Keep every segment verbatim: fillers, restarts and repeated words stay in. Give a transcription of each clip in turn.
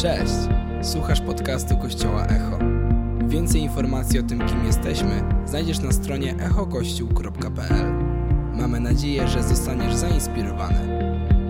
Cześć! Słuchasz podcastu Kościoła Echo. Więcej informacji o tym, kim jesteśmy, znajdziesz na stronie echo kościół kropka p l. Mamy nadzieję, że zostaniesz zainspirowany.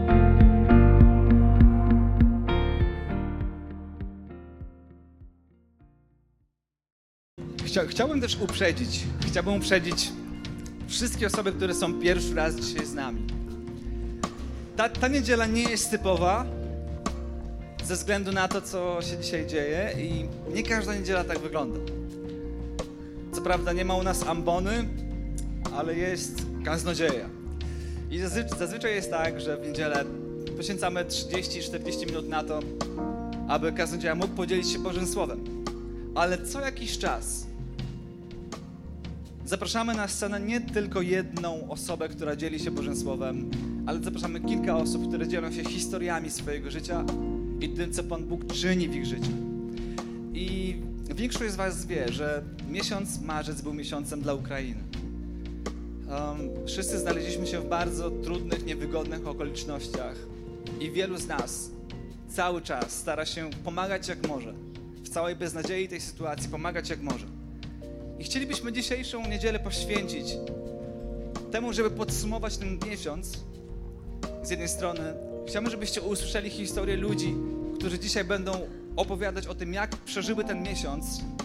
Chcia, chciałbym też uprzedzić, chciałbym uprzedzić wszystkie osoby, które są pierwszy raz dzisiaj z nami. Ta, ta niedziela nie jest typowa ze względu na to, co się dzisiaj dzieje i nie każda niedziela tak wygląda. Co prawda nie ma u nas ambony, ale jest kaznodzieja. I zazwy- zazwyczaj jest tak, że w niedzielę poświęcamy trzydzieści czterdzieści minut na to, aby kaznodzieja mógł podzielić się Bożym Słowem. Ale co jakiś czas zapraszamy na scenę nie tylko jedną osobę, która dzieli się Bożym Słowem, ale zapraszamy kilka osób, które dzielą się historiami swojego życia i tym, co Pan Bóg czyni w ich życiu. I większość z was wie, że miesiąc marzec był miesiącem dla Ukrainy. Um, wszyscy znaleźliśmy się w bardzo trudnych, niewygodnych okolicznościach i wielu z nas cały czas stara się pomagać jak może. W całej beznadziei tej sytuacji pomagać jak może. I chcielibyśmy dzisiejszą niedzielę poświęcić temu, żeby podsumować ten miesiąc. Z jednej strony chciałbym, żebyście usłyszeli historię ludzi, którzy dzisiaj będą opowiadać o tym, jak przeżyły ten miesiąc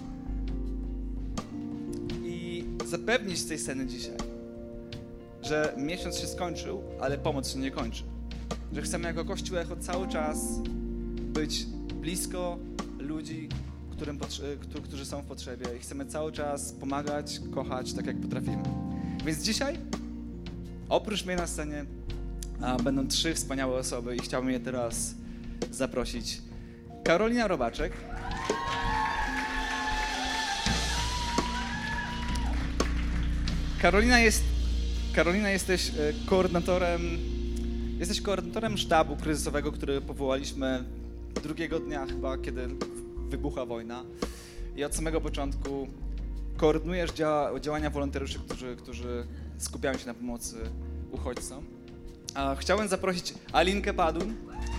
i zapewnić z tej sceny dzisiaj, że miesiąc się skończył, ale pomoc się nie kończy. Że chcemy jako Kościół Echo cały czas być blisko ludzi, którym, którzy są w potrzebie i chcemy cały czas pomagać, kochać tak jak potrafimy. Więc dzisiaj, oprócz mnie na scenie, a, będą trzy wspaniałe osoby i chciałbym je teraz zaprosić. Karolina Robaczek. Karolina jest, Karolina jesteś koordynatorem, jesteś koordynatorem sztabu kryzysowego, który powołaliśmy drugiego dnia chyba, kiedy wybuchła wojna. I od samego początku koordynujesz dzia- działania wolontariuszy, którzy, którzy skupiają się na pomocy uchodźcom. A chciałem zaprosić Alinkę Padun.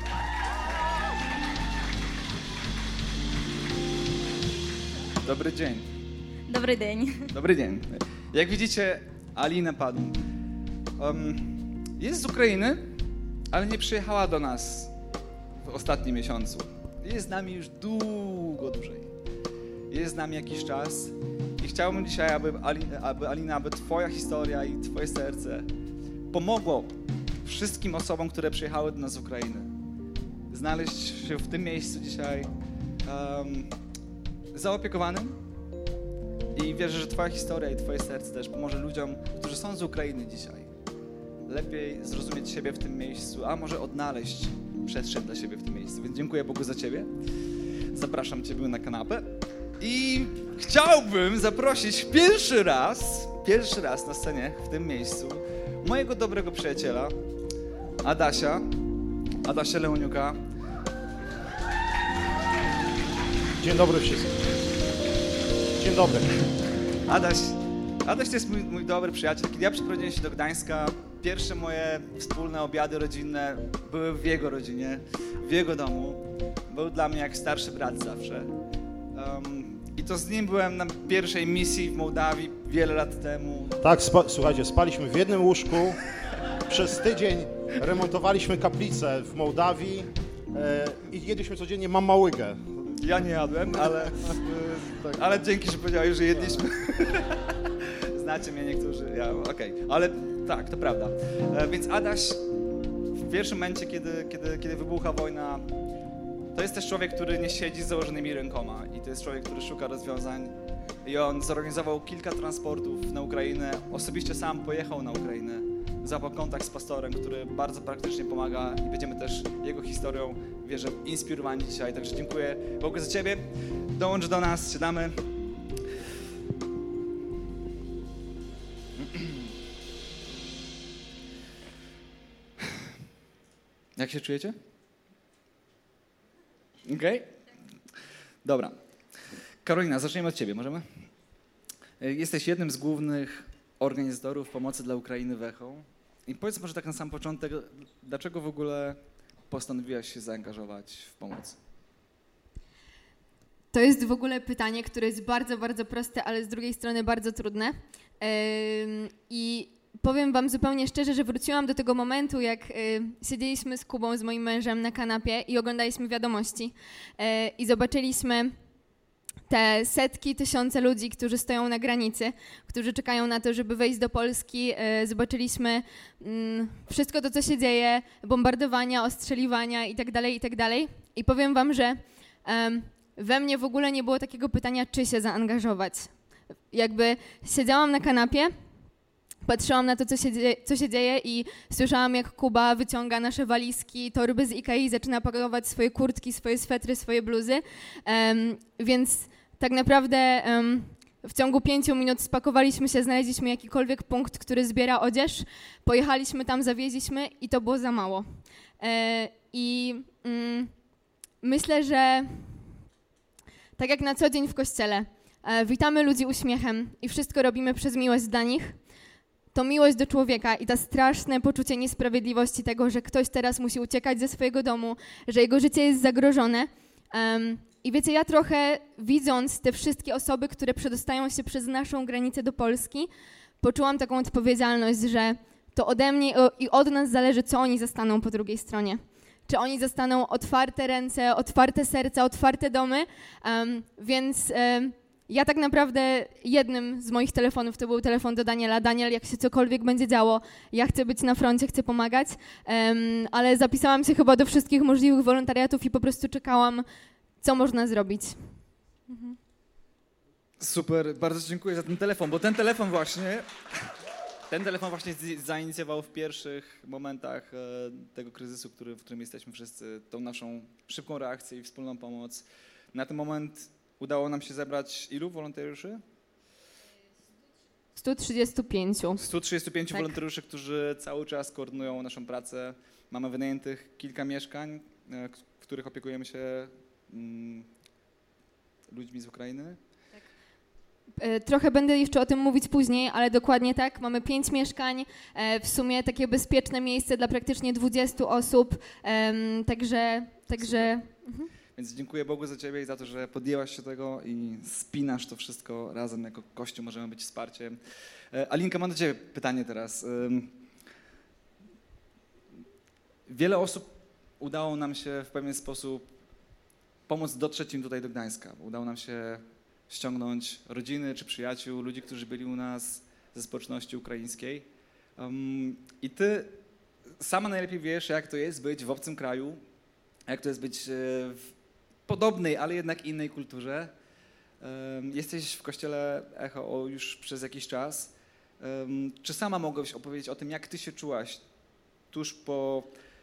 Dobry dzień. Dobry dzień. Dobry dzień. Jak widzicie, Alina Padun um, jest z Ukrainy, ale nie przyjechała do nas w ostatnim miesiącu. Jest z nami już długo dłużej. Jest z nami jakiś czas i chciałbym dzisiaj, aby, Ali, aby Alina, aby twoja historia i twoje serce pomogło wszystkim osobom, które przyjechały do nas z Ukrainy, znaleźć się w tym miejscu dzisiaj um, zaopiekowanym i wierzę, że twoja historia i twoje serce też pomoże ludziom, którzy są z Ukrainy dzisiaj, lepiej zrozumieć siebie w tym miejscu, a może odnaleźć przestrzeń dla siebie w tym miejscu. Więc dziękuję Bogu za ciebie. Zapraszam ciebie na kanapę i chciałbym zaprosić pierwszy raz, pierwszy raz na scenie w tym miejscu mojego dobrego przyjaciela, Adasia, Adasia Leoniuka. Dzień dobry wszystkim. Dzień dobry. Adaś, Adaś to jest mój, mój dobry przyjaciel. Kiedy ja przyprowadziłem się do Gdańska, pierwsze moje wspólne obiady rodzinne były w jego rodzinie, w jego domu. Był dla mnie jak starszy brat zawsze. Um, I to z nim byłem na pierwszej misji w Mołdawii wiele lat temu. Tak, spa- słuchajcie, spaliśmy w jednym łóżku. Przez tydzień remontowaliśmy kaplicę w Mołdawii e, i jedliśmy codziennie mamałygę. Ja nie jadłem, ale, ale dzięki, że powiedziałeś, że jedliśmy. Znacie mnie niektórzy, ja, okej, okay. Ale tak, to prawda. E, więc Adaś w pierwszym momencie, kiedy, kiedy, kiedy wybucha wojna, to jest też człowiek, który nie siedzi z założonymi rękoma i to jest człowiek, który szuka rozwiązań i on zorganizował kilka transportów na Ukrainę, osobiście sam pojechał na Ukrainę, złapał kontakt z pastorem, który bardzo praktycznie pomaga i będziemy też jego historią, wierzę, inspirowani dzisiaj, także dziękuję Bogu za ciebie. Dołącz do nas, siadamy. Jak się czujecie? Okej? Okay? Dobra. Karolina, zaczniemy od ciebie, możemy? Jesteś jednym z głównych organizatorów pomocy dla Ukrainy w Echo. I powiedz może tak na sam początek, dlaczego w ogóle postanowiłaś się zaangażować w pomoc? To jest w ogóle pytanie, które jest bardzo, bardzo proste, ale z drugiej strony bardzo trudne. Ym, I powiem wam zupełnie szczerze, że wróciłam do tego momentu, jak y, siedzieliśmy z Kubą, z moim mężem na kanapie i oglądaliśmy wiadomości y, i zobaczyliśmy te setki, tysiące ludzi, którzy stoją na granicy, którzy czekają na to, żeby wejść do Polski. Y, zobaczyliśmy y, wszystko to, co się dzieje, bombardowania, ostrzeliwania itd., itd. I powiem wam, że y, we mnie w ogóle nie było takiego pytania, czy się zaangażować. Jakby siedziałam na kanapie, patrzyłam na to, co się, dzieje, co się dzieje i słyszałam, jak Kuba wyciąga nasze walizki, torby z Ikei, zaczyna pakować swoje kurtki, swoje swetry, swoje bluzy. Um, więc tak naprawdę um, w ciągu pięciu minut spakowaliśmy się, znaleźliśmy jakikolwiek punkt, który zbiera odzież, pojechaliśmy tam, zawieźliśmy i to było za mało. E, I mm, myślę, że tak jak na co dzień w kościele, e, witamy ludzi uśmiechem i wszystko robimy przez miłość dla nich, to miłość do człowieka i to straszne poczucie niesprawiedliwości tego, że ktoś teraz musi uciekać ze swojego domu, że jego życie jest zagrożone. Um, I wiecie, ja trochę widząc te wszystkie osoby, które przedostają się przez naszą granicę do Polski, poczułam taką odpowiedzialność, że to ode mnie i od nas zależy, co oni zastaną po drugiej stronie. Czy oni zastaną otwarte ręce, otwarte serca, otwarte domy, um, więc... Um, Ja tak naprawdę jednym z moich telefonów to był telefon do Daniela. Daniel, jak się cokolwiek będzie działo, ja chcę być na froncie, chcę pomagać, um, ale zapisałam się chyba do wszystkich możliwych wolontariatów i po prostu czekałam, co można zrobić. Mhm. Super, bardzo dziękuję za ten telefon, bo ten telefon właśnie, ten telefon właśnie zainicjował w pierwszych momentach tego kryzysu, który, w którym jesteśmy wszyscy, tą naszą szybką reakcję i wspólną pomoc. Na ten moment udało nam się zebrać ilu wolontariuszy? sto trzydzieści pięć. sto trzydzieści pięć tak. wolontariuszy, którzy cały czas koordynują naszą pracę. Mamy wynajętych kilka mieszkań, w których opiekujemy się mm, ludźmi z Ukrainy. Trochę będę jeszcze o tym mówić później, ale dokładnie tak. Mamy pięć mieszkań, w sumie takie bezpieczne miejsce dla praktycznie dwudziestu osób, także... także mhm. Więc dziękuję Bogu za Ciebie i za to, że podjęłaś się tego i spinasz to wszystko razem jako Kościół, możemy być wsparciem. Alinka, mam do Ciebie pytanie teraz. Wiele osób udało nam się w pewien sposób pomóc dotrzeć im tutaj do Gdańska. Udało nam się ściągnąć rodziny czy przyjaciół, ludzi, którzy byli u nas ze społeczności ukraińskiej. I Ty sama najlepiej wiesz, jak to jest być w obcym kraju, jak to jest być w podobnej, ale jednak innej kulturze. Jesteś w kościele Echo już przez jakiś czas. Czy sama mogłabyś opowiedzieć o tym, jak ty się czułaś tuż po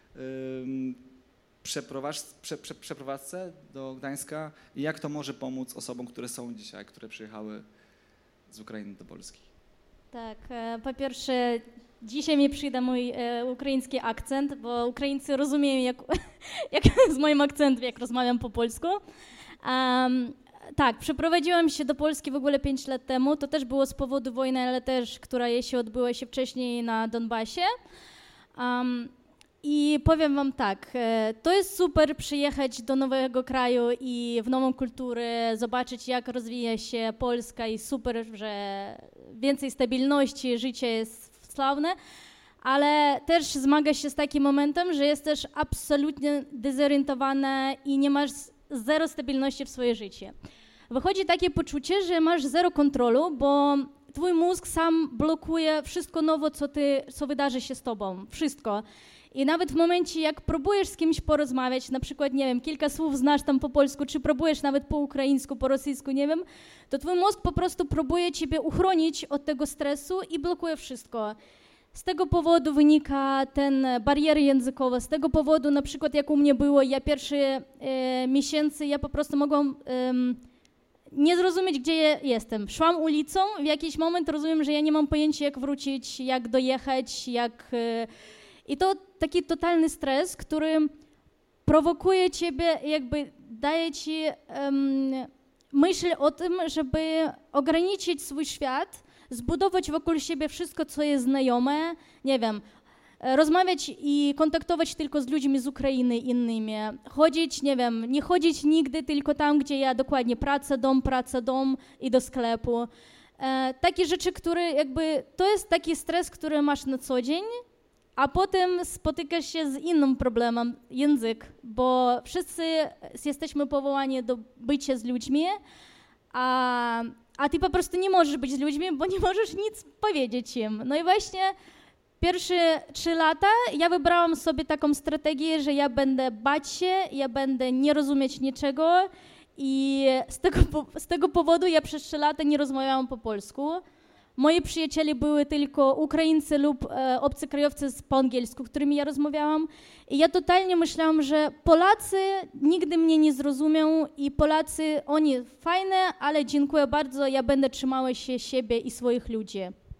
przeprowadzce, prze, prze, przeprowadzce do Gdańska i jak to może pomóc osobom, które są dzisiaj, które przyjechały z Ukrainy do Polski? Tak, po pierwsze dzisiaj mi przyda mój e, ukraiński akcent, bo Ukraińcy rozumieją jak, jak z moim akcentem, jak rozmawiam po polsku. Um, tak, przeprowadziłam się do Polski w ogóle pięć lat temu. To też było z powodu wojny, ale też, która się odbyła się wcześniej na Donbasie. Um, I powiem wam tak, e, to jest super przyjechać do nowego kraju i w nową kulturę, zobaczyć jak rozwija się Polska i super, że więcej stabilności, życie jest sławne, ale też zmaga się z takim momentem, że jesteś absolutnie dezorientowana i nie masz zero stabilności w swoje życie. Wychodzi takie poczucie, że masz zero kontrolu, bo twój mózg sam blokuje wszystko nowe, co, ty, co wydarzy się z tobą, wszystko. I nawet w momencie, jak próbujesz z kimś porozmawiać, na przykład, nie wiem, kilka słów znasz tam po polsku, czy próbujesz nawet po ukraińsku, po rosyjsku, nie wiem, to twój mózg po prostu próbuje ciebie uchronić od tego stresu i blokuje wszystko. Z tego powodu wynika ten bariery językowe, z tego powodu na przykład jak u mnie było, ja pierwsze e, miesiące, ja po prostu mogłam e, nie zrozumieć, gdzie ja jestem. Szłam ulicą, w jakiś moment rozumiem, że ja nie mam pojęcia, jak wrócić, jak dojechać, jak... E, I to taki totalny stres, który prowokuje ciebie, jakby daje ci um, myśl o tym, żeby ograniczyć swój świat, zbudować wokół siebie wszystko, co jest znajome, nie wiem, rozmawiać i kontaktować tylko z ludźmi z Ukrainy innymi. Chodzić, nie wiem, nie chodzić nigdy tylko tam, gdzie ja dokładnie praca, dom, praca, dom i do sklepu. E, takie rzeczy, które jakby, to jest taki stres, który masz na co dzień, a potem spotykasz się z innym problemem, język, bo wszyscy jesteśmy powołani do bycia z ludźmi, a, a ty po prostu nie możesz być z ludźmi, bo nie możesz nic powiedzieć im. No i właśnie pierwsze trzy lata ja wybrałam sobie taką strategię, że ja będę bać się, ja będę nie rozumieć niczego i z tego, z tego powodu ja przez trzy lata nie rozmawiałam po polsku. Moi przyjaciele były tylko Ukraińcy lub e, obcokrajowcy po angielsku, którymi ja rozmawiałam. I ja totalnie myślałam, że Polacy nigdy mnie nie zrozumią i Polacy, oni fajne, ale dziękuję bardzo, ja będę trzymała się siebie i swoich ludzi.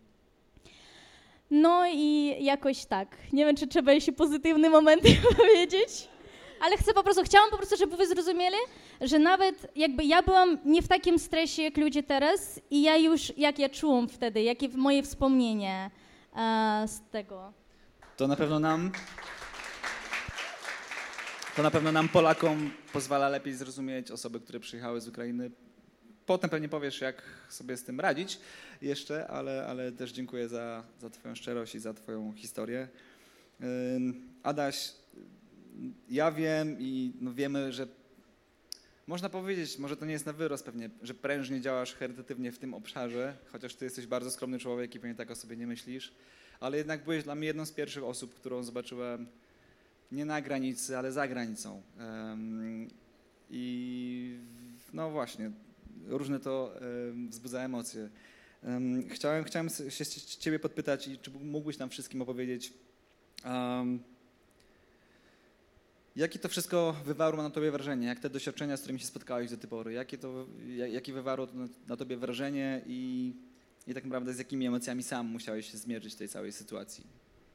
No i jakoś tak. Nie wiem, czy trzeba jeszcze pozytywne momenty powiedzieć, ale chcę po prostu, chciałam po prostu, żeby wy zrozumieli, że nawet jakby ja byłam nie w takim stresie jak ludzie teraz i ja już, jak ja czułam wtedy, jakie moje wspomnienie e, z tego. To na pewno nam, to na pewno nam Polakom pozwala lepiej zrozumieć osoby, które przyjechały z Ukrainy. Potem pewnie powiesz, jak sobie z tym radzić jeszcze, ale, ale też dziękuję za, za twoją szczerość i za twoją historię. Adaś, ja wiem i no wiemy, że można powiedzieć, może to nie jest na wyrost pewnie, że prężnie działasz charytatywnie w tym obszarze, chociaż ty jesteś bardzo skromny człowiek i pewnie tak o sobie nie myślisz, ale jednak byłeś dla mnie jedną z pierwszych osób, którą zobaczyłem nie na granicy, ale za granicą. Um, I no właśnie, różne to um, wzbudza emocje. Um, chciałem, chciałem się ciebie podpytać, czy mógłbyś nam wszystkim opowiedzieć, um, jakie to wszystko wywarło na tobie wrażenie? Jak te doświadczenia, z którymi się spotkałeś do tej pory, jakie to, jakie wywarło to na, na tobie wrażenie i, i tak naprawdę z jakimi emocjami sam musiałeś się zmierzyć w tej całej sytuacji?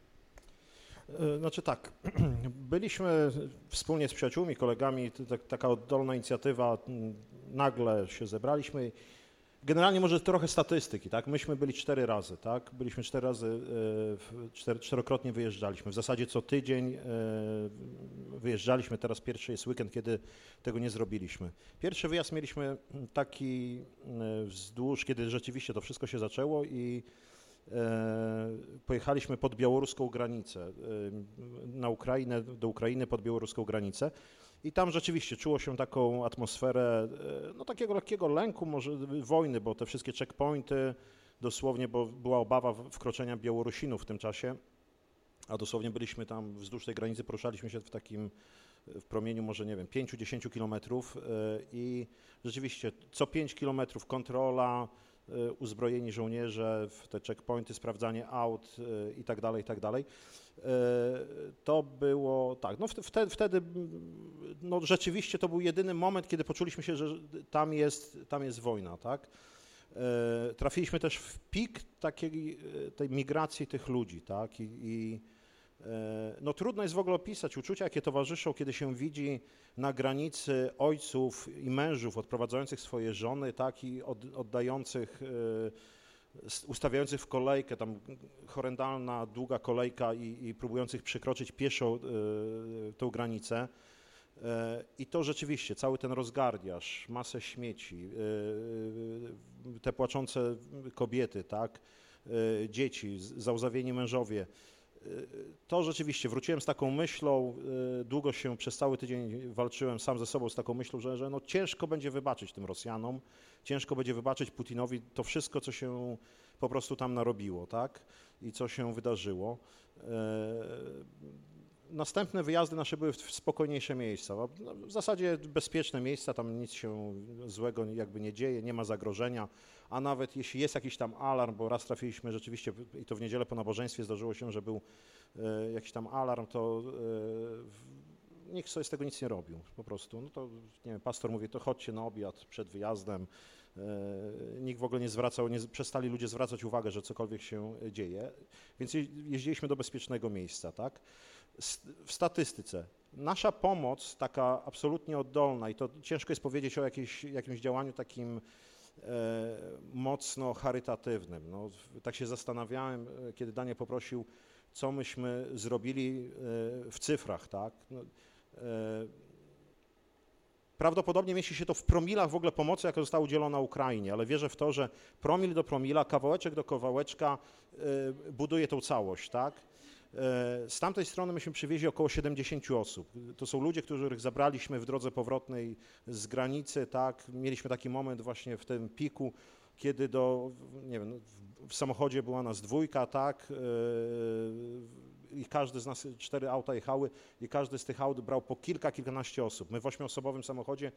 Znaczy tak, byliśmy wspólnie z przyjaciółmi, kolegami, taka oddolna inicjatywa, nagle się zebraliśmy. Generalnie może trochę statystyki, tak? Myśmy byli cztery razy, tak? Byliśmy cztery razy, cztery, czterokrotnie wyjeżdżaliśmy. W zasadzie co tydzień wyjeżdżaliśmy, teraz pierwszy jest weekend, kiedy tego nie zrobiliśmy. Pierwszy wyjazd mieliśmy taki wzdłuż, kiedy rzeczywiście to wszystko się zaczęło i pojechaliśmy pod białoruską granicę, na Ukrainę, do Ukrainy pod białoruską granicę. I tam rzeczywiście czuło się taką atmosferę, no takiego lekkiego lęku, może wojny, bo te wszystkie checkpointy, dosłownie, bo była obawa wkroczenia Białorusinów w tym czasie, a dosłownie byliśmy tam wzdłuż tej granicy, poruszaliśmy się w takim, w promieniu może, nie wiem, pięć do dziesięciu kilometrów i rzeczywiście co pięć kilometrów kontrola, uzbrojeni żołnierze, w te checkpointy, sprawdzanie aut i tak dalej, i tak dalej. To było tak, no wtedy, wtedy no rzeczywiście to był jedyny moment, kiedy poczuliśmy się, że tam jest, tam jest wojna, tak. Trafiliśmy też w pik takiej tej migracji tych ludzi, tak, i, i no trudno jest w ogóle opisać uczucia, jakie towarzyszą, kiedy się widzi na granicy ojców i mężów odprowadzających swoje żony, tak, i od, oddających, ustawiających w kolejkę, tam horrendalna, długa kolejka i, i próbujących przekroczyć pieszo y, tą granicę. Y, I to rzeczywiście, cały ten rozgardiaż, masę śmieci, y, te płaczące kobiety, tak, y, dzieci, załzawieni mężowie. To rzeczywiście, wróciłem z taką myślą, długo się przez cały tydzień walczyłem sam ze sobą z taką myślą, że, że no ciężko będzie wybaczyć tym Rosjanom, ciężko będzie wybaczyć Putinowi to wszystko, co się po prostu tam narobiło, tak, i co się wydarzyło. Następne wyjazdy nasze były w spokojniejsze miejsca, w zasadzie bezpieczne miejsca, tam nic się złego jakby nie dzieje, nie ma zagrożenia, a nawet jeśli jest jakiś tam alarm, bo raz trafiliśmy rzeczywiście, i to w niedzielę po nabożeństwie zdarzyło się, że był e, jakiś tam alarm, to e, nikt sobie z tego nic nie robił, po prostu. No to, nie wiem, pastor mówi, to chodźcie na obiad przed wyjazdem. E, nikt w ogóle nie zwracał, nie, przestali ludzie zwracać uwagę, że cokolwiek się dzieje, więc jeździliśmy do bezpiecznego miejsca, tak? W statystyce nasza pomoc, taka absolutnie oddolna, i to ciężko jest powiedzieć o jakiejś, jakimś działaniu takim e, mocno charytatywnym. No, tak się zastanawiałem, kiedy Daniel poprosił, co myśmy zrobili w cyfrach, tak? No, prawdopodobnie mieści się to w promilach w ogóle pomocy, jaka została udzielona Ukrainie, ale wierzę w to, że promil do promila, kawałeczek do kawałeczka buduje tą całość, tak? Z tamtej strony myśmy przywieźli około siedemdziesiąt osób. To są ludzie, których zabraliśmy w drodze powrotnej z granicy, tak? Mieliśmy taki moment właśnie w tym piku, kiedy do, nie wiem, w samochodzie była nas dwójka, tak? I każdy z nas, cztery auta jechały i każdy z tych aut brał po kilka, kilkanaście osób. My w ośmioosobowym samochodzie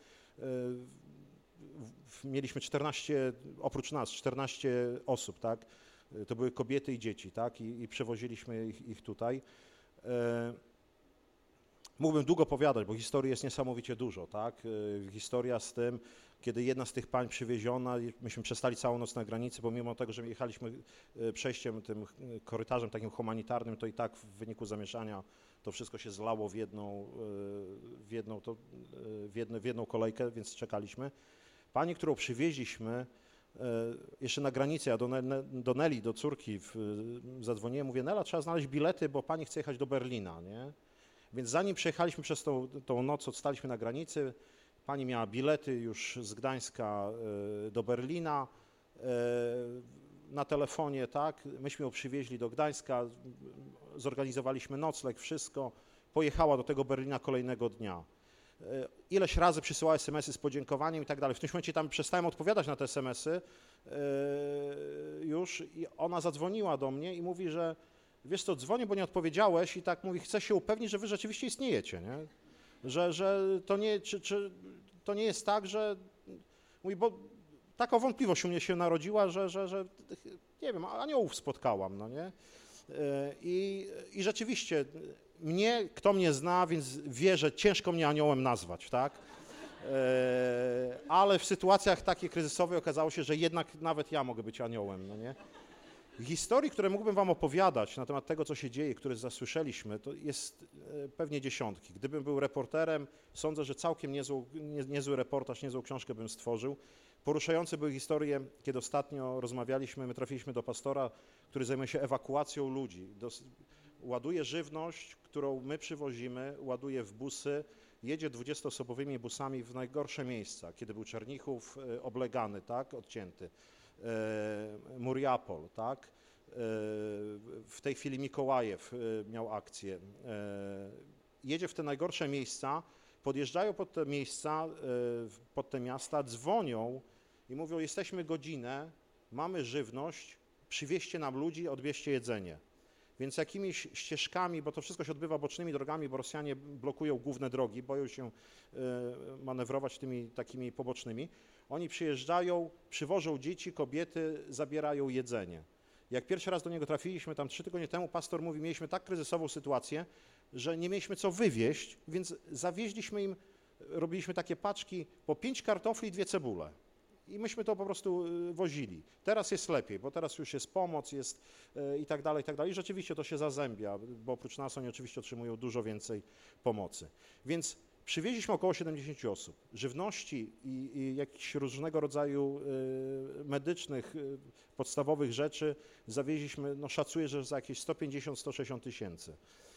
mieliśmy czternaście, oprócz nas, czternaście osób, tak? To były kobiety i dzieci, tak? I, i przewoziliśmy ich, ich tutaj. E, mógłbym długo powiadać, bo historii jest niesamowicie dużo, tak? E, historia z tym, kiedy jedna z tych pań przywieziona, myśmy przestali całą noc na granicy, bo mimo tego, że jechaliśmy przejściem, tym korytarzem takim humanitarnym, to i tak w wyniku zamieszania to wszystko się zlało w jedną, w jedną, to, w jedną, w jedną kolejkę, więc czekaliśmy. Pani, którą przywieźliśmy, jeszcze na granicy, ja do, do Neli, do córki w, zadzwoniłem, mówię, Nela, trzeba znaleźć bilety, bo pani chce jechać do Berlina, nie? Więc zanim przejechaliśmy przez tą, tą noc, odstaliśmy na granicy, pani miała bilety już z Gdańska do Berlina, na telefonie, tak, myśmy ją przywieźli do Gdańska, zorganizowaliśmy nocleg, wszystko, pojechała do tego Berlina kolejnego dnia. Ileś razy przysyłała es em esy z podziękowaniem i tak dalej. W tym momencie tam przestałem odpowiadać na te es em esy już i ona zadzwoniła do mnie i mówi, że wiesz co, dzwonię, bo nie odpowiedziałeś i tak mówi, chcę się upewnić, że wy rzeczywiście istniejecie, nie? Że, że to, nie, czy, czy, to nie jest tak, że mówi, bo taka wątpliwość u mnie się narodziła, że, że, że nie wiem, aniołów spotkałam, no nie? I, i rzeczywiście mnie, kto mnie zna, więc wie, że ciężko mnie aniołem nazwać, tak? Ale w sytuacjach takiej kryzysowej okazało się, że jednak nawet ja mogę być aniołem, no nie? Historii, które mógłbym wam opowiadać na temat tego, co się dzieje, które zasłyszeliśmy, to jest pewnie dziesiątki. Gdybym był reporterem, sądzę, że całkiem niezły, nie, niezły reportaż, niezłą książkę bym stworzył. Poruszające były historie, kiedy ostatnio rozmawialiśmy, my trafiliśmy do pastora, który zajmuje się ewakuacją ludzi. Do, ładuje żywność, którą my przywozimy, ładuje w busy, jedzie dwudziestoosobowymi busami w najgorsze miejsca, kiedy był Czernichów oblegany, tak, odcięty. Muriapol, tak? W tej chwili Mikołajew miał akcję. Jedzie w te najgorsze miejsca, podjeżdżają pod te miejsca, pod te miasta, dzwonią i mówią, jesteśmy godzinę, mamy żywność, przywieźcie nam ludzi, odbierzcie jedzenie. Więc jakimiś ścieżkami, bo to wszystko się odbywa bocznymi drogami, bo Rosjanie blokują główne drogi, boją się manewrować tymi takimi pobocznymi. Oni przyjeżdżają, przywożą dzieci, kobiety, zabierają jedzenie. Jak pierwszy raz do niego trafiliśmy, tam trzy tygodnie temu, pastor mówi, mieliśmy tak kryzysową sytuację, że nie mieliśmy co wywieźć, więc zawieźliśmy im, robiliśmy takie paczki po pięć kartofli i dwie cebule. I myśmy to po prostu wozili. Teraz jest lepiej, bo teraz już jest pomoc, jest i tak dalej, i tak dalej. I rzeczywiście to się zazębia, bo oprócz nas oni oczywiście otrzymują dużo więcej pomocy. Więc przywieźliśmy około siedemdziesiąt osób. Żywności i, i jakichś różnego rodzaju y, medycznych, y, podstawowych rzeczy zawieźliśmy, no szacuję, że za jakieś sto pięćdziesiąt do stu sześćdziesięciu tysięcy.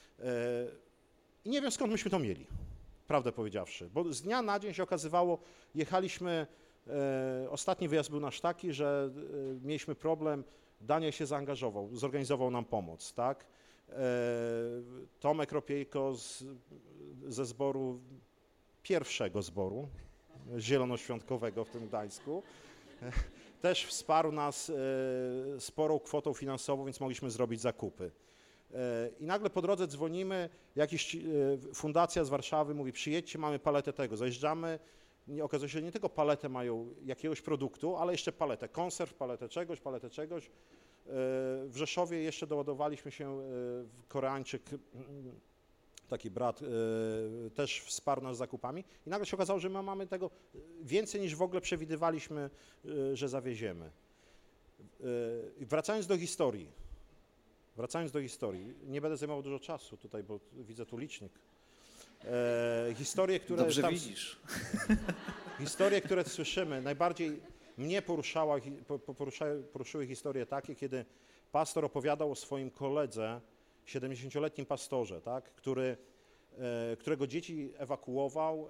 I nie wiem, skąd myśmy to mieli, prawdę powiedziawszy, bo z dnia na dzień się okazywało, jechaliśmy, e, ostatni wyjazd był nasz taki, że e, mieliśmy problem, Daniel się zaangażował, zorganizował nam pomoc, tak? E, Tomek Ropiejko z, ze zboru, pierwszego zboru zielonoświątkowego w tym Gdańsku, e, też wsparł nas e, sporą kwotą finansową, więc mogliśmy zrobić zakupy. I nagle po drodze dzwonimy, jakaś fundacja z Warszawy mówi, przyjedźcie, mamy paletę tego, zajeżdżamy, nie, okazuje się, że nie tylko paletę mają jakiegoś produktu, ale jeszcze paletę konserw, paletę czegoś, paletę czegoś. W Rzeszowie jeszcze doładowaliśmy się, Koreańczyk, taki brat, też wsparł nas zakupami i nagle się okazało, że my mamy tego więcej niż w ogóle przewidywaliśmy, że zawieziemy. Wracając do historii, Wracając do historii, nie będę zajmował dużo czasu tutaj, bo widzę tu licznik. E, historie, które Dobrze tam, widzisz. Historie, które słyszymy, najbardziej mnie poruszała, poruszały, poruszyły historie takie, kiedy pastor opowiadał o swoim koledze, siedemdziesięcioletnim pastorze, tak, który, którego dzieci ewakuował,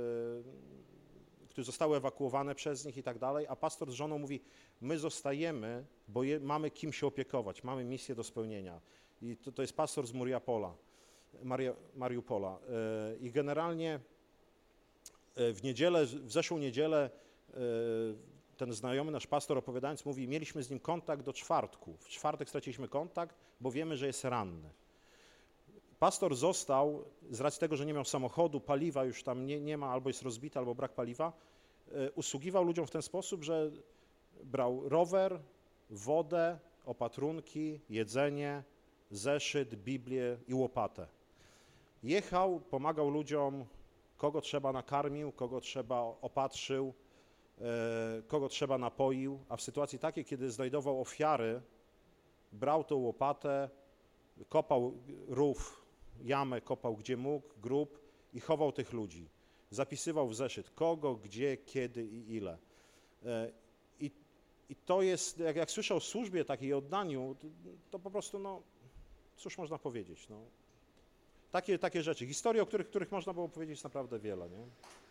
które zostały ewakuowane przez nich i tak dalej, a pastor z żoną mówi, my zostajemy, bo je, mamy kim się opiekować, mamy misję do spełnienia. I to, to jest pastor z Mariupola, Maria, Mariupola. I generalnie w niedzielę, w zeszłą niedzielę ten znajomy nasz pastor opowiadając mówi, mieliśmy z nim kontakt do czwartku. W czwartek straciliśmy kontakt, bo wiemy, że jest ranny. Pastor został, z racji tego, że nie miał samochodu, paliwa już tam nie, nie ma, albo jest rozbita, albo brak paliwa, usługiwał ludziom w ten sposób, że brał rower, wodę, opatrunki, jedzenie, zeszyt, Biblię i łopatę. Jechał, pomagał ludziom, kogo trzeba nakarmił, kogo trzeba opatrzył, kogo trzeba napoił, a w sytuacji takiej, kiedy znajdował ofiary, brał tą łopatę, kopał rów, jamę kopał gdzie mógł, grób i chował tych ludzi. Zapisywał w zeszyt kogo, gdzie, kiedy i ile. I, i to jest, jak, jak słyszę o służbie takiej oddaniu, to, to po prostu, no, cóż można powiedzieć, no. Takie, takie rzeczy. Historie, o których, których można było powiedzieć, jest naprawdę wiele, nie?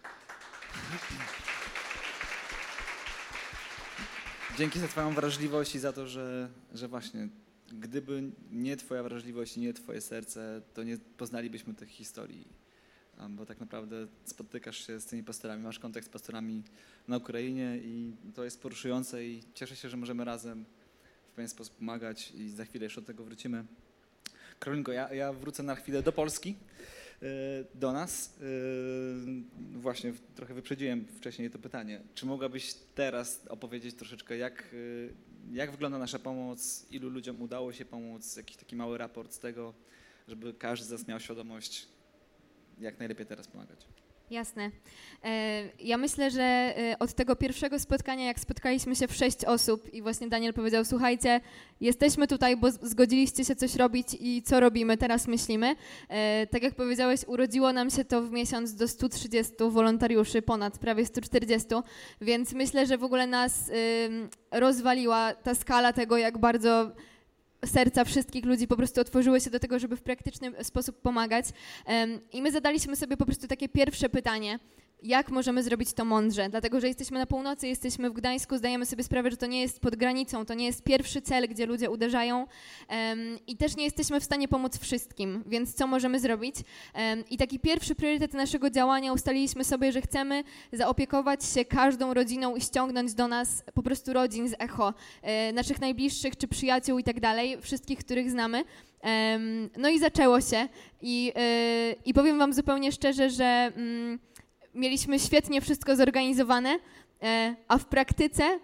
Dzięki za twoją wrażliwość i za to, że, że właśnie gdyby nie twoja wrażliwość i nie twoje serce, to nie poznalibyśmy tych historii. Bo tak naprawdę spotykasz się z tymi pastorami, masz kontakt z pastorami na Ukrainie i to jest poruszujące i cieszę się, że możemy razem w pewien sposób pomagać i za chwilę jeszcze do tego wrócimy. Karolinko, ja, ja wrócę na chwilę do Polski, do nas. Właśnie trochę wyprzedziłem wcześniej to pytanie. Czy mogłabyś teraz opowiedzieć troszeczkę, jak, jak wygląda nasza pomoc, ilu ludziom udało się pomóc, jakiś taki mały raport z tego, żeby każdy z nas miał świadomość, jak najlepiej teraz pomagać? Jasne. Ja myślę, że od tego pierwszego spotkania, jak spotkaliśmy się w sześć osób i właśnie Daniel powiedział, słuchajcie, jesteśmy tutaj, bo zgodziliście się coś robić i co robimy, teraz myślimy. Tak jak powiedziałeś, urodziło nam się to w miesiąc do stu trzydziestu wolontariuszy, ponad prawie stu czterdziestu, więc myślę, że w ogóle nas rozwaliła ta skala tego, jak bardzo serca wszystkich ludzi po prostu otworzyły się do tego, żeby w praktyczny sposób pomagać. I my zadaliśmy sobie po prostu takie pierwsze pytanie, jak możemy zrobić to mądrze, dlatego że jesteśmy na północy, jesteśmy w Gdańsku, zdajemy sobie sprawę, że to nie jest pod granicą, to nie jest pierwszy cel, gdzie ludzie uderzają um, i też nie jesteśmy w stanie pomóc wszystkim, więc co możemy zrobić? Um, I taki pierwszy priorytet naszego działania ustaliliśmy sobie, że chcemy zaopiekować się każdą rodziną i ściągnąć do nas po prostu rodzin z Echo, e, naszych najbliższych czy przyjaciół i tak dalej, wszystkich, których znamy. Um, no i zaczęło się i, e, i powiem wam zupełnie szczerze, że mm, mieliśmy świetnie wszystko zorganizowane, a w praktyce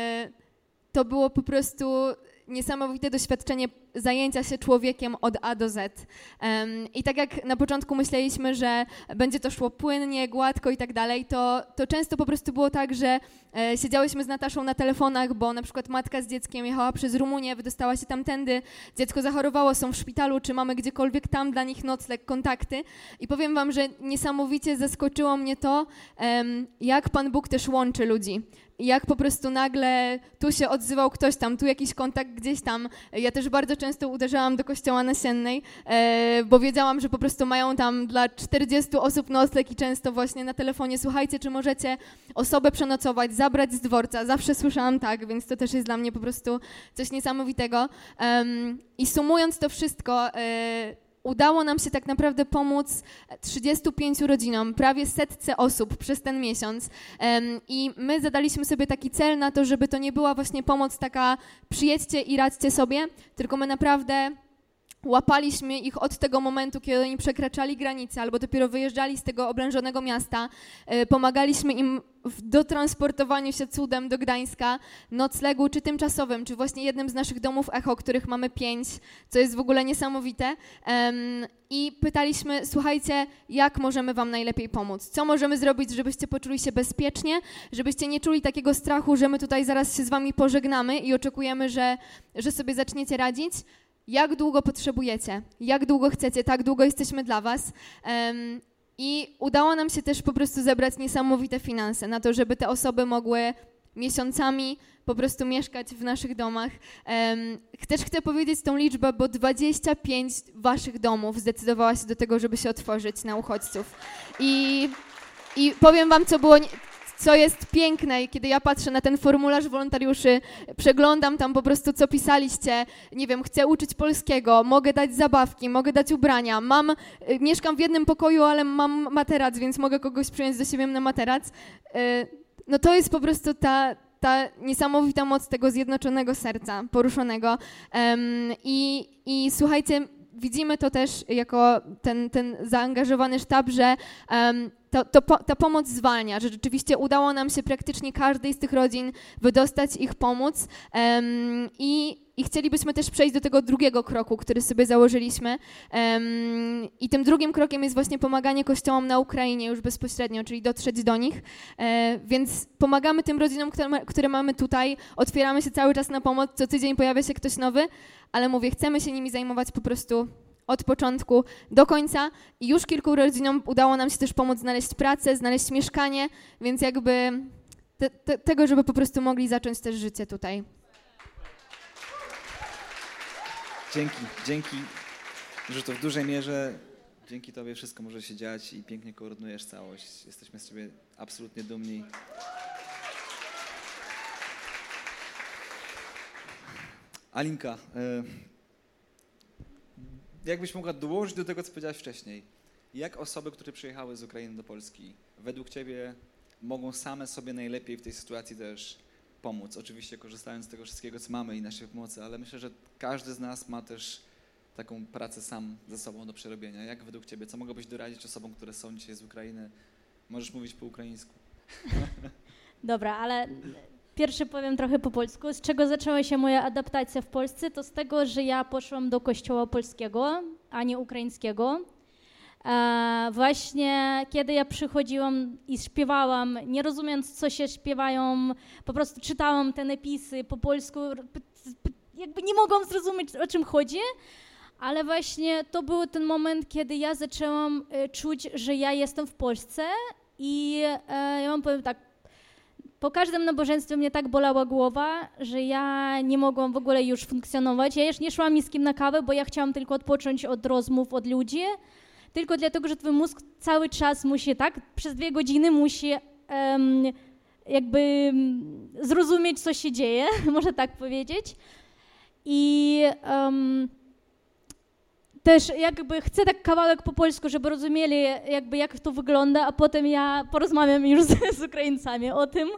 to było po prostu niesamowite doświadczenie zajęcia się człowiekiem od A do Z. I tak jak na początku myśleliśmy, że będzie to szło płynnie, gładko i tak dalej, to, to często po prostu było tak, że siedziałyśmy z Nataszą na telefonach, bo na przykład matka z dzieckiem jechała przez Rumunię, wydostała się tamtędy, dziecko zachorowało, są w szpitalu, czy mamy gdziekolwiek tam dla nich nocleg, kontakty. I powiem wam, że niesamowicie zaskoczyło mnie to, jak Pan Bóg też łączy ludzi. Jak po prostu nagle tu się odzywał ktoś tam, tu jakiś kontakt gdzieś tam. Ja też bardzo często uderzałam do kościoła nasiennej, e, bo wiedziałam, że po prostu mają tam dla czterdziestu osób nocleg i często właśnie na telefonie, słuchajcie, czy możecie osobę przenocować, zabrać z dworca. Zawsze słyszałam tak, więc to też jest dla mnie po prostu coś niesamowitego. Um, I sumując to wszystko, e, udało nam się tak naprawdę pomóc trzydziestu pięciu rodzinom, prawie setce osób przez ten miesiąc. I my zadaliśmy sobie taki cel na to, żeby to nie była właśnie pomoc taka przyjedźcie i radźcie sobie, tylko my naprawdę łapaliśmy ich od tego momentu, kiedy oni przekraczali granicę albo dopiero wyjeżdżali z tego oblężonego miasta. Pomagaliśmy im w dotransportowaniu się cudem do Gdańska, noclegu czy tymczasowym, czy właśnie jednym z naszych domów Echo, których mamy pięć, co jest w ogóle niesamowite. I pytaliśmy, słuchajcie, jak możemy wam najlepiej pomóc? Co możemy zrobić, żebyście poczuli się bezpiecznie, żebyście nie czuli takiego strachu, że my tutaj zaraz się z wami pożegnamy i oczekujemy, że, że sobie zaczniecie radzić? Jak długo potrzebujecie, jak długo chcecie, tak długo jesteśmy dla was. Um, I udało nam się też po prostu zebrać niesamowite finanse na to, żeby te osoby mogły miesiącami po prostu mieszkać w naszych domach. Um, też chcę powiedzieć tą liczbę, bo dwadzieścia pięć waszych domów zdecydowała się do tego, żeby się otworzyć na uchodźców. I, i powiem wam, co było... Nie- Co jest piękne, i kiedy ja patrzę na ten formularz wolontariuszy, przeglądam tam po prostu, co pisaliście, nie wiem, chcę uczyć polskiego, mogę dać zabawki, mogę dać ubrania, mam, y, mieszkam w jednym pokoju, ale mam materac, więc mogę kogoś przyjąć do siebie na materac. Y, no to jest po prostu ta, ta niesamowita moc tego zjednoczonego serca, poruszonego. Um, i, I słuchajcie, widzimy to też jako ten, ten zaangażowany sztab, że um, to, to po, ta pomoc zwalnia, że rzeczywiście udało nam się praktycznie każdej z tych rodzin wydostać, ich pomóc um, i, i chcielibyśmy też przejść do tego drugiego kroku, który sobie założyliśmy um, i tym drugim krokiem jest właśnie pomaganie kościołom na Ukrainie już bezpośrednio, czyli dotrzeć do nich, e, więc pomagamy tym rodzinom, które, które mamy tutaj, otwieramy się cały czas na pomoc, co tydzień pojawia się ktoś nowy, ale mówię, chcemy się nimi zajmować po prostu od początku do końca i już kilku rodzinom udało nam się też pomóc znaleźć pracę, znaleźć mieszkanie, więc jakby te, te, tego, żeby po prostu mogli zacząć też życie tutaj. Dzięki, dzięki, że to w dużej mierze dzięki tobie wszystko może się dziać i pięknie koordynujesz całość. Jesteśmy z ciebie absolutnie dumni. Alinka, jakbyś mogła dołożyć do tego, co powiedziałaś wcześniej, jak osoby, które przyjechały z Ukrainy do Polski, według ciebie mogą same sobie najlepiej w tej sytuacji też pomóc? Oczywiście korzystając z tego wszystkiego, co mamy i naszej pomocy, ale myślę, że każdy z nas ma też taką pracę sam ze sobą do przerobienia. Jak według ciebie, co mogłabyś doradzić osobom, które są dzisiaj z Ukrainy? Możesz mówić po ukraińsku. Dobra, ale pierwszy powiem trochę po polsku. Z czego zaczęła się moja adaptacja w Polsce? To z tego, że ja poszłam do kościoła polskiego, a nie ukraińskiego. E, właśnie kiedy ja przychodziłam i śpiewałam, nie rozumiejąc, co się śpiewają, po prostu czytałam te napisy po polsku, jakby nie mogłam zrozumieć, o czym chodzi, ale właśnie to był ten moment, kiedy ja zaczęłam e, czuć, że ja jestem w Polsce i e, ja wam powiem tak, po każdym nabożeństwie mnie tak bolała głowa, że ja nie mogłam w ogóle już funkcjonować. Ja już nie szłam ni z kim na kawę, bo ja chciałam tylko odpocząć od rozmów, od ludzi, tylko dlatego, że twój mózg cały czas musi, tak, przez dwie godziny musi um, jakby zrozumieć, co się dzieje, można tak powiedzieć. I um, też jakby chcę tak kawałek po polsku, żeby rozumieli jakby jak to wygląda, a potem ja porozmawiam już z, z Ukraińcami o tym.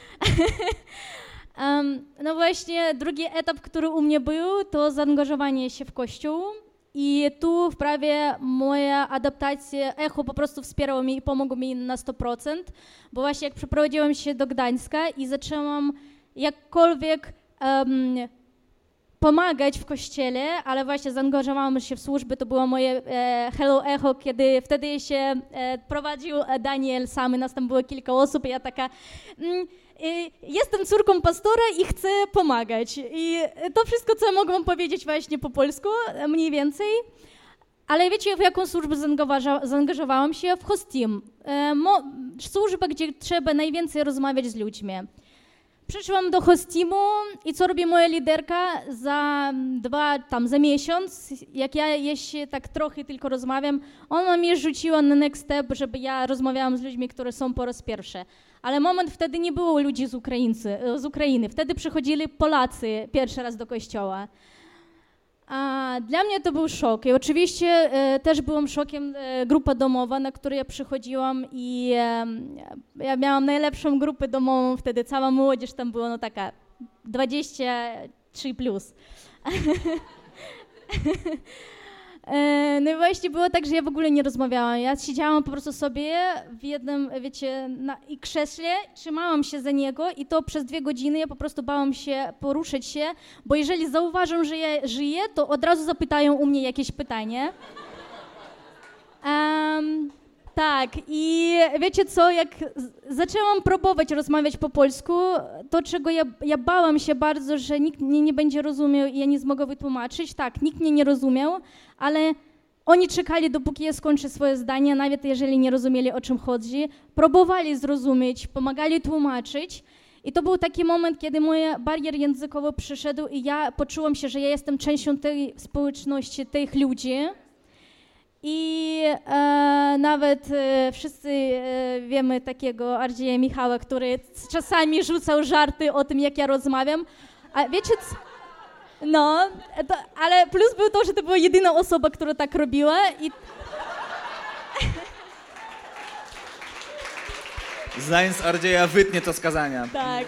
um, no właśnie drugi etap, który u mnie był, to zaangażowanie się w Kościół. I tu wprawie moja adaptacja, Echo po prostu wspierało mnie i pomogło mi na sto procent, bo właśnie jak przeprowadziłam się do Gdańska i zaczęłam jakkolwiek um, pomagać w kościele, ale właśnie zaangażowałam się w służby, to było moje e, Hello Echo, kiedy wtedy się e, prowadził Daniel sam, nas tam było kilka osób i ja taka, mm, y, jestem córką pastora i chcę pomagać. I to wszystko, co mogłam powiedzieć właśnie po polsku, mniej więcej. Ale wiecie, w jaką służbę zaangażowałam się? W hostim. E, mo, służba, gdzie trzeba najwięcej rozmawiać z ludźmi. Przyszłam do hostimu i co robi moja liderka za dwa, tam za miesiąc, jak ja jeszcze tak trochę tylko rozmawiam, ona mnie rzuciła na next step, żeby ja rozmawiałam z ludźmi, którzy są po raz pierwszy. Ale moment wtedy nie było ludzi z, Ukraińcy, z Ukrainy, wtedy przychodzili Polacy pierwszy raz do kościoła. A dla mnie to był szok i oczywiście e, też byłam szokiem e, grupa domowa, na której ja przychodziłam i e, ja miałam najlepszą grupę domową wtedy, cała młodzież tam była no taka dwadzieścia trzy plus. e, no i właśnie było tak, że ja w ogóle nie rozmawiałam, ja siedziałam po prostu sobie w jednym, wiecie, na i krześle, trzymałam się za niego i to przez dwie godziny ja po prostu bałam się poruszyć się, bo jeżeli zauważą, że ja żyję, to od razu zapytają u mnie jakieś pytanie. Um, tak, i wiecie co, jak zaczęłam próbować rozmawiać po polsku, to czego ja, ja bałam się bardzo, że nikt mnie nie będzie rozumiał i ja nie zmogę wytłumaczyć, tak, nikt mnie nie rozumiał, ale oni czekali, dopóki ja skończę swoje zdanie, nawet jeżeli nie rozumieli, o czym chodzi, próbowali zrozumieć, pomagali tłumaczyć I to był taki moment, kiedy mój barier językowy przyszedł i ja poczułam się, że ja jestem częścią tej społeczności, tych ludzi. I e, nawet e, wszyscy e, wiemy takiego Ardzieja Michała, który czasami rzucał żarty o tym, jak ja rozmawiam. A wiecie co? No, to, ale plus był to, że to była jedyna osoba, która tak robiła i... Znając Ardzieja, wytnie to z kazania. Tak.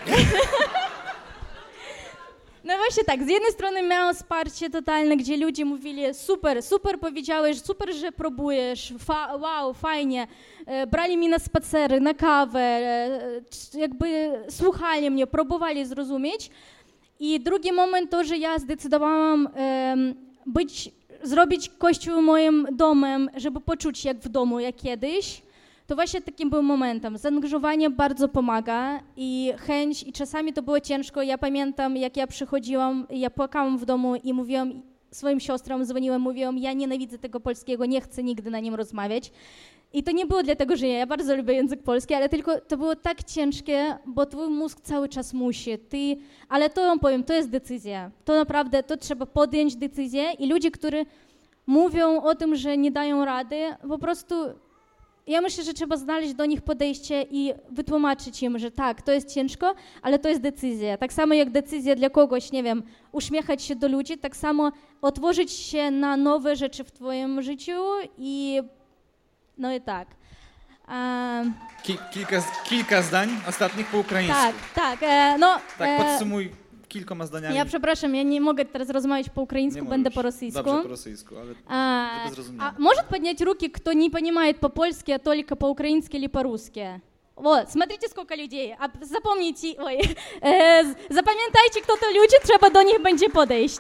No właśnie tak, z jednej strony miałam wsparcie totalne, gdzie ludzie mówili super, super powiedziałeś, super, że próbujesz, fa- wow, fajnie. E, brali mnie na spacery, na kawę, e, jakby słuchali mnie, próbowali zrozumieć. I drugi moment to, że ja zdecydowałam e, być, zrobić kościół moim domem, żeby poczuć się jak w domu, jak kiedyś. To właśnie takim był momentem. Zaangażowanie bardzo pomaga i chęć, i czasami to było ciężko. Ja pamiętam, jak ja przychodziłam, ja płakałam w domu i mówiłam swoim siostrom, dzwoniłam, mówiłam, ja nienawidzę tego polskiego, nie chcę nigdy na nim rozmawiać. I to nie było dlatego, że ja, ja bardzo lubię język polski, ale tylko to było tak ciężkie, bo twój mózg cały czas musi. Ty, ale to wam powiem, to jest decyzja. To naprawdę, to trzeba podjąć decyzję i ludzie, którzy mówią o tym, że nie dają rady, po prostu... Ja myślę, że trzeba znaleźć do nich podejście i wytłumaczyć im, że tak, to jest ciężko, ale to jest decyzja. Tak samo jak decyzja dla kogoś, nie wiem, uśmiechać się do ludzi, tak samo otworzyć się na nowe rzeczy w twoim życiu i no i tak. Um, Ki- kilka, kilka zdań ostatnich po ukraińsku. tak, tak, e, no... Tak, e, podsumuj kilkoma zdaniami. Ja przepraszam, ja nie mogę teraz rozmawiać po украинсku, będę по российску. Dobrze, po rosyjsku, ale А, żeby zrozumieć. а может поднять руки, кто не понимает по-польски, а только по-украински или по-русски? Вот, смотрите, сколько людей. А, запомните, ой, э, запам'ятайте, кто-то люди, trzeba do nich będzie podejść.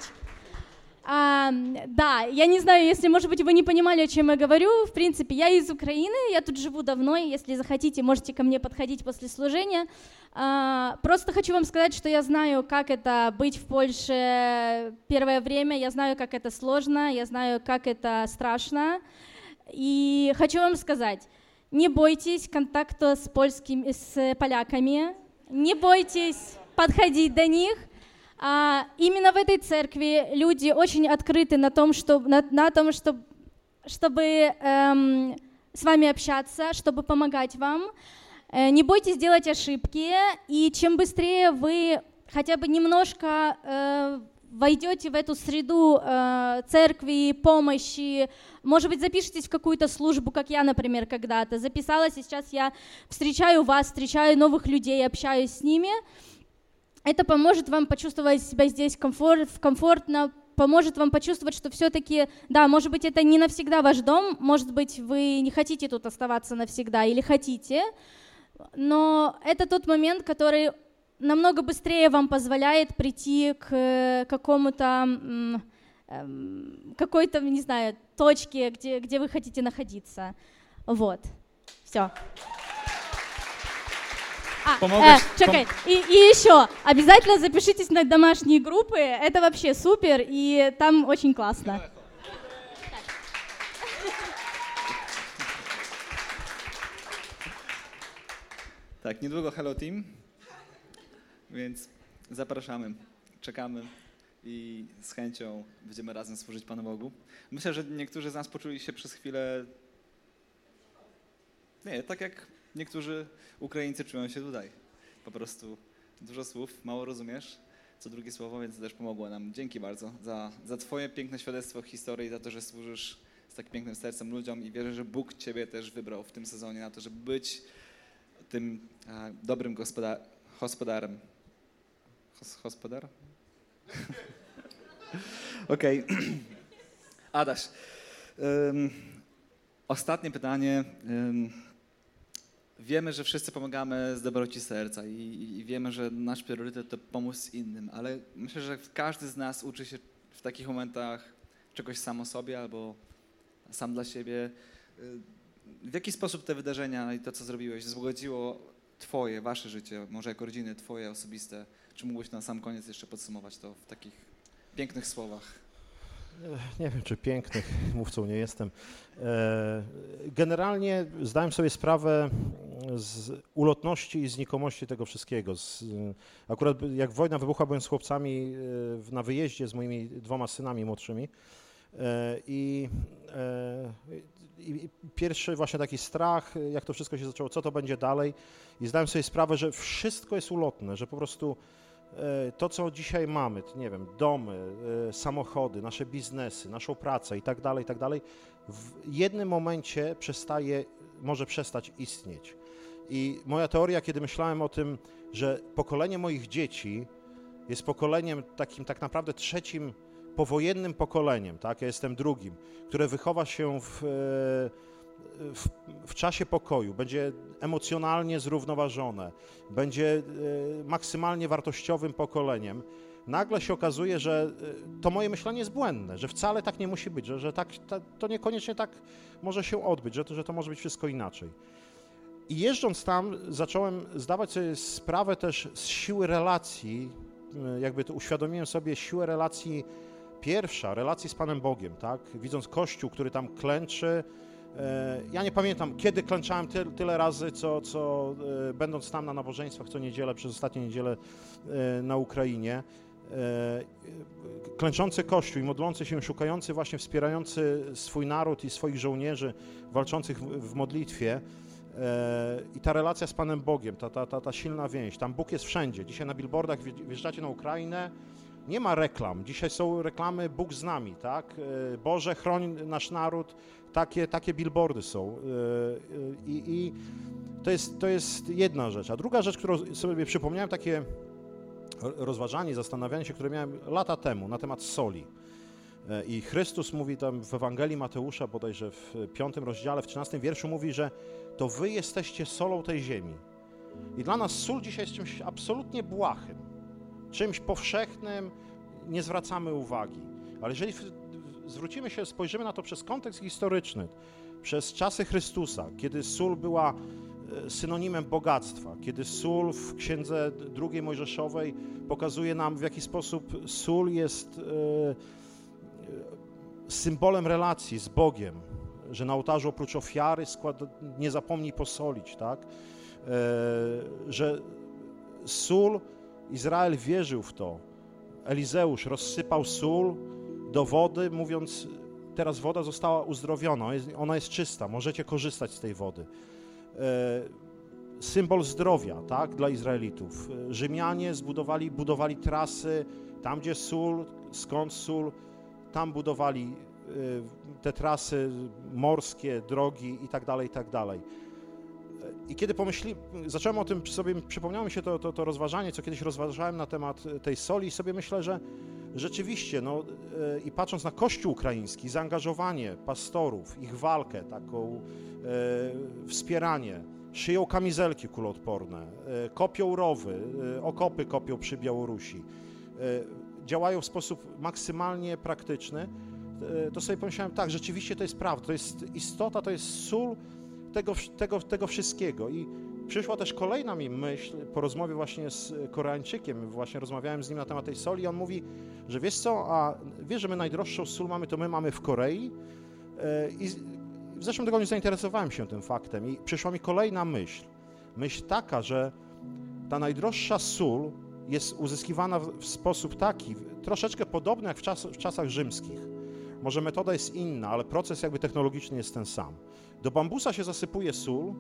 А, да, я не знаю, если, может быть, вы не понимали, о чем я говорю. В принципе, я из Украины, я тут живу давно, и если захотите, можете ко мне подходить после служения. А, просто хочу вам сказать, что я знаю, как это быть в Польше первое время, я знаю, как это сложно, я знаю, как это страшно. И хочу вам сказать, не бойтесь контакта с польскими, с поляками, не бойтесь подходить до них. А именно в этой церкви люди очень открыты на том, что, на, на том, что, чтобы эм, с вами общаться, чтобы помогать вам. Э, не бойтесь делать ошибки, и чем быстрее вы хотя бы немножко э, войдете в эту среду э, церкви, помощи, может быть, запишитесь в какую-то службу, как я, например, когда-то записалась, и сейчас я встречаю вас, встречаю новых людей, общаюсь с ними. Это поможет вам почувствовать себя здесь комфорт, комфортно, поможет вам почувствовать, что все-таки, да, может быть, это не навсегда ваш дом, может быть, вы не хотите тут оставаться навсегда или хотите, но это тот момент, который намного быстрее вам позволяет прийти к какому-то, какой-то, не знаю, точке, где, где вы хотите находиться. Вот, все. А, э, чекай, и, и еще, обязательно запишитесь на домашние группы, это вообще супер, и там очень классно. Tak, niedługo Hello Team, więc zapraszamy, czekamy i z chęcią będziemy razem służyć Panu Bogu. Myślę, że niektórzy z nas poczuli się przez chwilę, nie, tak jak niektórzy Ukraińcy czują się tutaj. Po prostu dużo słów, mało rozumiesz, co drugie słowo, więc też pomogło nam. Dzięki bardzo za, za Twoje piękne świadectwo historii, za to, że służysz z tak pięknym sercem ludziom i wierzę, że Bóg Ciebie też wybrał w tym sezonie na to, żeby być tym e, dobrym gospoda- gospodarem. Hos- gospodar? Okej. Okay. Adaś, um, ostatnie pytanie. Um, Wiemy, że wszyscy pomagamy z dobroci serca i, i wiemy, że nasz priorytet to pomóc innym, ale myślę, że każdy z nas uczy się w takich momentach czegoś sam o sobie albo sam dla siebie. W jaki sposób te wydarzenia i to, co zrobiłeś, wzbogaciło Twoje, Wasze życie, może jako rodziny, Twoje osobiste? Czy mógłbyś na sam koniec jeszcze podsumować to w takich pięknych słowach? Nie wiem, czy pięknych, mówcą nie jestem. Generalnie zdałem sobie sprawę z ulotności i znikomości tego wszystkiego. Z, akurat jak wojna wybuchła, byłem z chłopcami na wyjeździe z moimi dwoma synami młodszymi i, i pierwszy właśnie taki strach, jak to wszystko się zaczęło, co to będzie dalej, i zdałem sobie sprawę, że wszystko jest ulotne, że po prostu to, co dzisiaj mamy, nie wiem, domy, samochody, nasze biznesy, naszą pracę i tak dalej, i tak dalej, w jednym momencie przestaje, może przestać istnieć. I moja teoria, kiedy myślałem o tym, że pokolenie moich dzieci jest pokoleniem takim tak naprawdę trzecim powojennym pokoleniem, tak, ja jestem drugim, które wychowa się w, w, w czasie pokoju, będzie emocjonalnie zrównoważone, będzie maksymalnie wartościowym pokoleniem, nagle się okazuje, że to moje myślenie jest błędne, że wcale tak nie musi być, że, że tak, ta, to niekoniecznie tak może się odbyć, że to, że to może być wszystko inaczej. I jeżdżąc tam zacząłem zdawać sobie sprawę też z siły relacji, jakby to uświadomiłem sobie siłę relacji pierwsza, relacji z Panem Bogiem, tak? Widząc Kościół, który tam klęczy. Ja nie pamiętam, kiedy klęczałem ty, tyle razy, co, co będąc tam na nabożeństwach co niedzielę, przez ostatnie niedzielę na Ukrainie. Klęczący Kościół i modlący się, szukający, właśnie wspierający swój naród i swoich żołnierzy walczących w, w modlitwie. I ta relacja z Panem Bogiem, ta, ta, ta, ta silna więź, tam Bóg jest wszędzie. Dzisiaj na billboardach wjeżdżacie na Ukrainę, nie ma reklam, dzisiaj są reklamy Bóg z nami, tak? Boże, chroń nasz naród, takie, takie billboardy są. I, i to, jest, to jest jedna rzecz. A druga rzecz, którą sobie przypomniałem, takie rozważanie, zastanawianie się, które miałem lata temu na temat soli. I Chrystus mówi tam w Ewangelii Mateusza, bodajże w piątym rozdziale, w trzynastym wierszu mówi, że to wy jesteście solą tej ziemi. I dla nas sól dzisiaj jest czymś absolutnie błahym, czymś powszechnym, nie zwracamy uwagi. Ale jeżeli zwrócimy się, spojrzymy na to przez kontekst historyczny, przez czasy Chrystusa, kiedy sól była synonimem bogactwa, kiedy sól w Księdze drugiej Mojżeszowej pokazuje nam, w jaki sposób sól jest symbolem relacji z Bogiem, że na ołtarzu oprócz ofiary skład, nie zapomnij posolić, tak? Że sól, Izrael wierzył w to. Elizeusz rozsypał sól do wody, mówiąc, teraz woda została uzdrowiona, ona jest czysta, możecie korzystać z tej wody. Symbol zdrowia, tak, dla Izraelitów. Rzymianie zbudowali, budowali trasy, tam gdzie sól, skąd sól, tam budowali te trasy morskie, drogi i tak dalej, i tak dalej. I kiedy pomyśli, zacząłem o tym sobie, przypomniało mi się to, to, to rozważanie, co kiedyś rozważałem na temat tej soli i sobie myślę, że rzeczywiście, no i patrząc na Kościół ukraiński, zaangażowanie pastorów, ich walkę, taką e, wspieranie, szyją kamizelki kuloodporne, e, kopią rowy, e, okopy kopią przy Białorusi, e, działają w sposób maksymalnie praktyczny, e, to sobie pomyślałem, tak, rzeczywiście to jest prawda, to jest istota, to jest sól tego, tego, tego wszystkiego. I przyszła też kolejna mi myśl po rozmowie właśnie z Koreańczykiem, właśnie rozmawiałem z nim na temat tej soli i on mówi, że wiesz co, a wiesz, że my najdroższą sól mamy, to my mamy w Korei i w zeszłym tygodniu zainteresowałem się tym faktem i przyszła mi kolejna myśl. Myśl taka, że ta najdroższa sól jest uzyskiwana w sposób taki, troszeczkę podobny jak w, czas, w czasach rzymskich. Może metoda jest inna, ale proces jakby technologiczny jest ten sam. Do bambusa się zasypuje sól,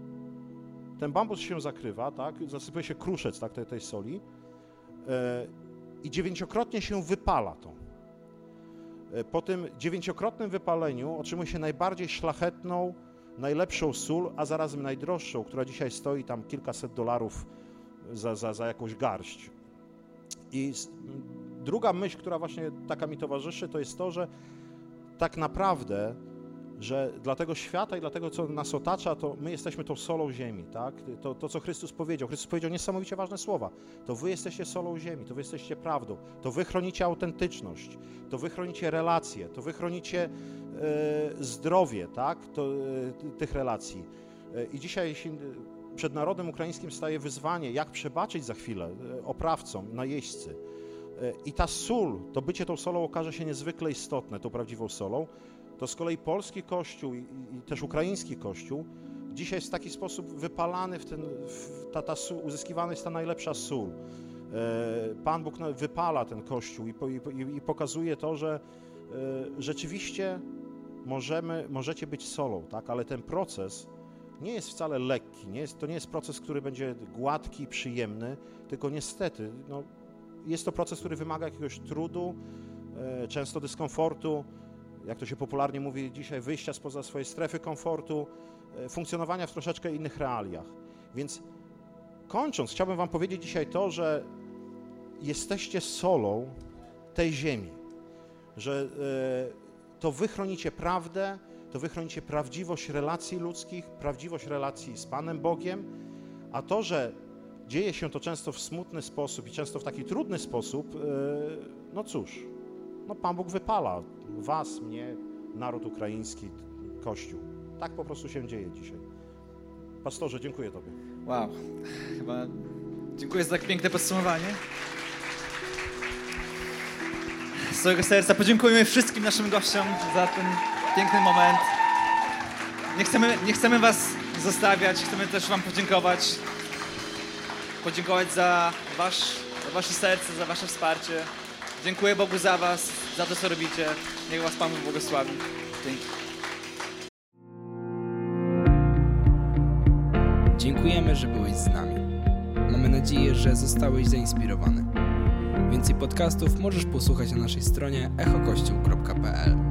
ten bambus się zakrywa, tak, zasypuje się kruszec, tak, tej, tej soli yy, i dziewięciokrotnie się wypala to. Yy, po tym dziewięciokrotnym wypaleniu otrzymuje się najbardziej szlachetną, najlepszą sól, a zarazem najdroższą, która dzisiaj stoi tam kilkaset dolarów za, za, za jakąś garść. I druga myśl, która właśnie taka mi towarzyszy, to jest to, że tak naprawdę, że dla tego świata i dla tego, co nas otacza, to my jesteśmy tą solą ziemi, tak? To, to, co Chrystus powiedział. Chrystus powiedział niesamowicie ważne słowa. To wy jesteście solą ziemi, to wy jesteście prawdą, to wy chronicie autentyczność, to wy chronicie relacje, to wy chronicie e, zdrowie, tak? To, e, tych relacji. E, I dzisiaj przed narodem ukraińskim staje wyzwanie, jak przebaczyć za chwilę oprawcom, najeźdźcy. I ta sól, to bycie tą solą okaże się niezwykle istotne, tą prawdziwą solą. To z kolei polski Kościół i, i też ukraiński Kościół dzisiaj jest w taki sposób wypalany, w ten, w ta, ta sól, uzyskiwana jest ta najlepsza sól. Pan Bóg wypala ten Kościół i, i, i pokazuje to, że rzeczywiście możemy, możecie być solą, tak? Ale ten proces nie jest wcale lekki, nie jest, to nie jest proces, który będzie gładki, przyjemny, tylko niestety no, jest to proces, który wymaga jakiegoś trudu, często dyskomfortu, jak to się popularnie mówi dzisiaj, wyjścia spoza swojej strefy komfortu, funkcjonowania w troszeczkę innych realiach. Więc kończąc, chciałbym wam powiedzieć dzisiaj to, że jesteście solą tej ziemi, że to wy chronicie prawdę, to wy chronicie prawdziwość relacji ludzkich, prawdziwość relacji z Panem Bogiem, a to, że dzieje się to często w smutny sposób i często w taki trudny sposób, no cóż, no Pan Bóg wypala was, mnie, naród ukraiński, Kościół. Tak po prostu się dzieje dzisiaj. Pastorze, dziękuję Tobie. Wow, chyba dziękuję za tak piękne podsumowanie. Z całego serca podziękujemy wszystkim naszym gościom za ten piękny moment. Nie chcemy, nie chcemy was zostawiać, chcemy też wam podziękować. Podziękować za, wasz, za wasze serce, za wasze wsparcie. Dziękuję Bogu za was, za to, co robicie. Niech was Pan Bóg błogosławi. Dzięki. Dziękujemy, że byłeś z nami. Mamy nadzieję, że zostałeś zainspirowany. Więcej podcastów możesz posłuchać na naszej stronie echo kościół kropka p l.